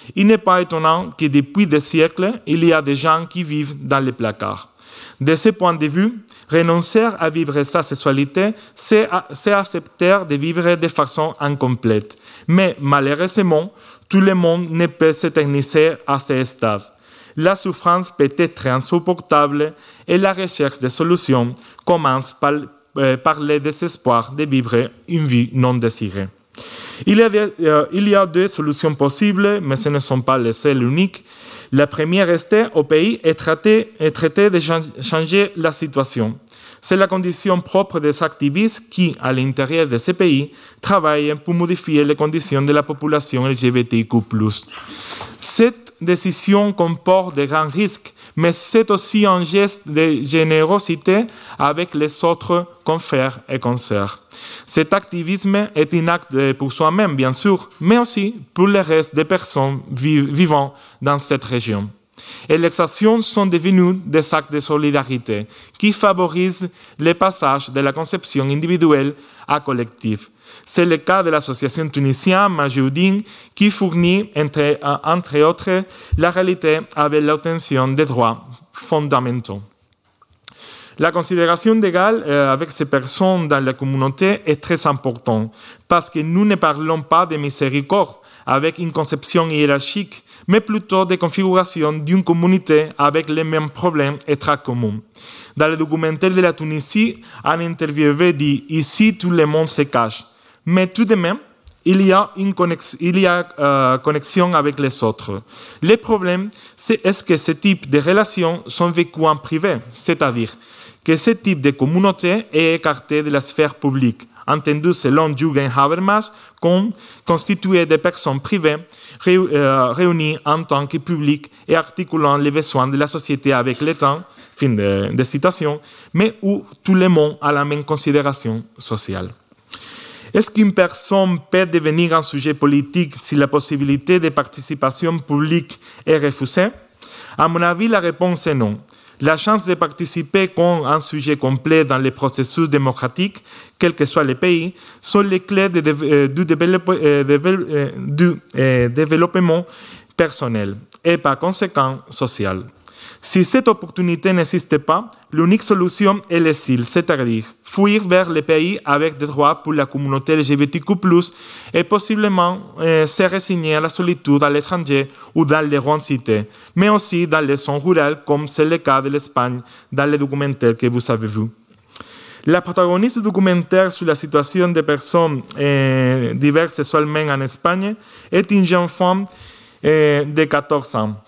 il n'est pas étonnant que depuis des siècles, il y a des gens qui vivent dans les placards. De ce point de vue, renoncer à vivre sa sexualité, c'est accepter de vivre de façon incomplète. Mais malheureusement, tout le monde ne peut s'éterniser à ce stade. La souffrance peut être insupportable et la recherche de solutions commence par, euh, par le désespoir de vivre une vie non désirée. Il y, a des, euh, il y a deux solutions possibles, mais ce ne sont pas les seules uniques. La première rester au pays et traiter, et traiter de changer la situation. C'est la condition propre des activistes qui, à l'intérieur de ces pays, travaillent pour modifier les conditions de la population L G B T Q plus. Cette décision comporte de grands risques, mais c'est aussi un geste de générosité avec les autres confrères et consoeurs. Cet activisme est un acte pour soi-même, bien sûr, mais aussi pour le reste des personnes vivant dans cette région. Et les actions sont devenues des actes de solidarité qui favorisent le passage de la conception individuelle à collective. C'est le cas de l'association tunisienne Majoudine qui fournit, entre, entre autres, la réalité avec l'obtention des droits fondamentaux. La considération d'égal euh, avec ces personnes dans la communauté est très importante parce que nous ne parlons pas de miséricorde avec une conception hiérarchique, mais plutôt de configuration d'une communauté avec les mêmes problèmes et traits communs. Dans le documentaire de la Tunisie, un interviewé dit « Ici, tout le monde se cache ». Mais tout de même, il y a une connexion, il y a, euh, connexion avec les autres. Le problème, c'est est-ce que ce type de relations sont vécues en privé, c'est-à-dire que ce type de communauté est écarté de la sphère publique, entendu selon Jürgen Habermas comme constitué de personnes privées réunies en tant que public et articulant les besoins de la société avec le temps, fin de, de citation, mais où tout le monde a la même considération sociale. Est-ce qu'une personne peut devenir un sujet politique si la possibilité de participation publique est refusée? À mon avis, la réponse est non. La chance de participer comme un sujet complet dans les processus démocratiques, quel que soit le pays, sont les clés de, de, du, développe, euh, de, du euh, développement personnel et par conséquent social. Si cette opportunité n'existe pas, l'unique solution est l'exil, c'est-à-dire fuir vers les pays avec des droits pour la communauté L G B T Q plus, et possiblement euh, se résigner à la solitude à l'étranger ou dans les grandes cités, mais aussi dans les zones rurales, comme c'est le cas de l'Espagne dans le documentaire que vous avez vu. La protagoniste du documentaire sur la situation des personnes euh, diverses sexuellement en Espagne est une jeune femme euh, de quatorze ans.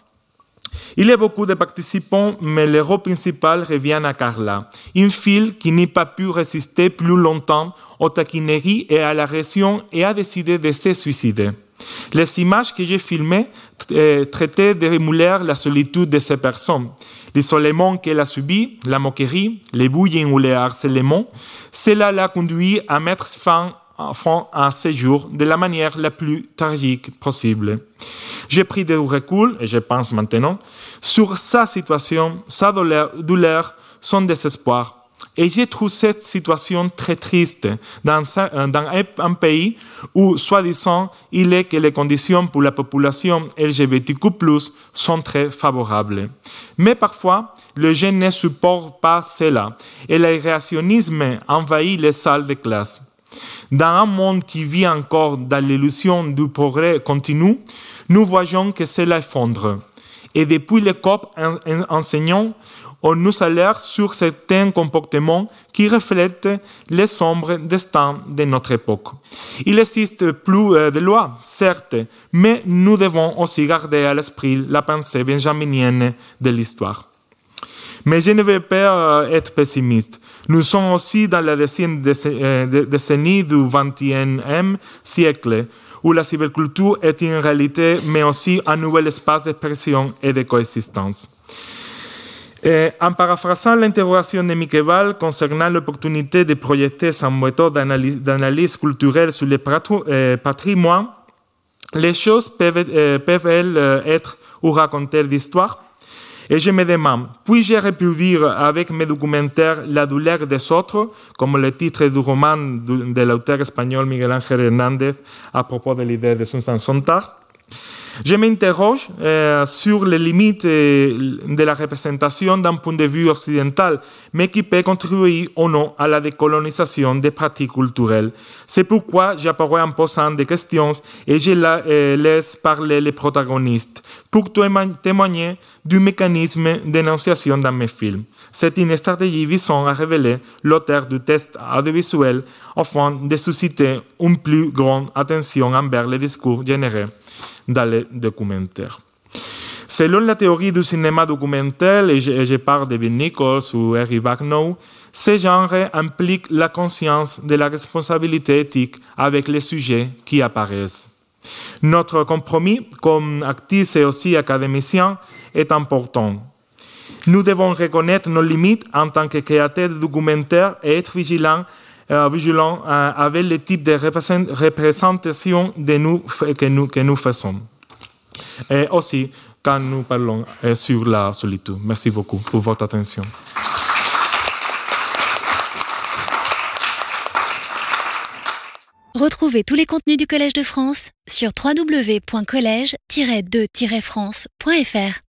Il y a beaucoup de participants, mais le rôle principal revient à Carla, une fille qui n'a pas pu résister plus longtemps aux taquineries et à l'agression et a décidé de se suicider. Les images que j'ai filmées euh, traitaient de remuer la solitude de ces personnes. L'isolement qu'elle a subi, la moquerie, les bullying ou les harcèlements, cela l'a conduit à mettre fin à ce jour de la manière la plus tragique possible. J'ai pris du recul, et je pense maintenant, sur sa situation, sa douleur, douleur son désespoir. Et j'ai trouvé cette situation très triste dans un, un pays où, soi-disant, il est que les conditions pour la population L G B T Q plus, sont très favorables. Mais parfois, les jeunes ne supportent pas cela et le réactionnisme envahit les salles de classe. Dans un monde qui vit encore dans l'illusion du progrès continu, nous voyons que cela effondre. Et depuis les C O P enseignants, on nous alerte sur certains comportements qui reflètent les sombres destins de notre époque. Il n'existe plus de loi, certes, mais nous devons aussi garder à l'esprit la pensée benjaminienne de l'histoire. Mais je ne veux pas être pessimiste. Nous sommes aussi dans la deuxième décennie du vingt-et-unième siècle, où la cyberculture est une réalité, mais aussi un nouvel espace d'expression et de coexistence. Et en paraphrasant l'interrogation de Miquel concernant l'opportunité de projeter sa méthode d'analyse, d'analyse culturelle sur le patrimoine, les choses peuvent, euh, peuvent elles, être ou raconter d'histoire. Et je me demande, puis-je reproduire avec mes documentaires la douleur des autres, comme le titre du roman de, de l'auteur espagnol Miguel Ángel Hernández à propos de l'idée de Susan Sontag? Je m'interroge euh, sur les limites euh, de la représentation d'un point de vue occidental, mais qui peut contribuer ou non à la décolonisation des pratiques culturelles. C'est pourquoi j'apparais en posant des questions et je la, euh, laisse parler les protagonistes pour témoigner du mécanisme d'énonciation dans mes films. C'est une stratégie visant à révéler l'auteur du texte audiovisuel afin de susciter une plus grande attention envers les discours générés dans les documentaires. Selon la théorie du cinéma documentaire, et je, et je parle de Bill Nichols ou Eric Backnow, ce genre implique la conscience de la responsabilité éthique avec les sujets qui apparaissent. Notre compromis, comme actrices et aussi académiciens, est important. Nous devons reconnaître nos limites en tant que créateurs de documentaires et être vigilants, euh, vigilants euh, avec le type de représentation de nous, que, nous, que nous faisons. Et aussi quand nous parlons euh, sur la solitude. Merci beaucoup pour votre attention. Retrouvez tous les contenus du Collège de France sur w w w point collège tiret de tiret france point f r.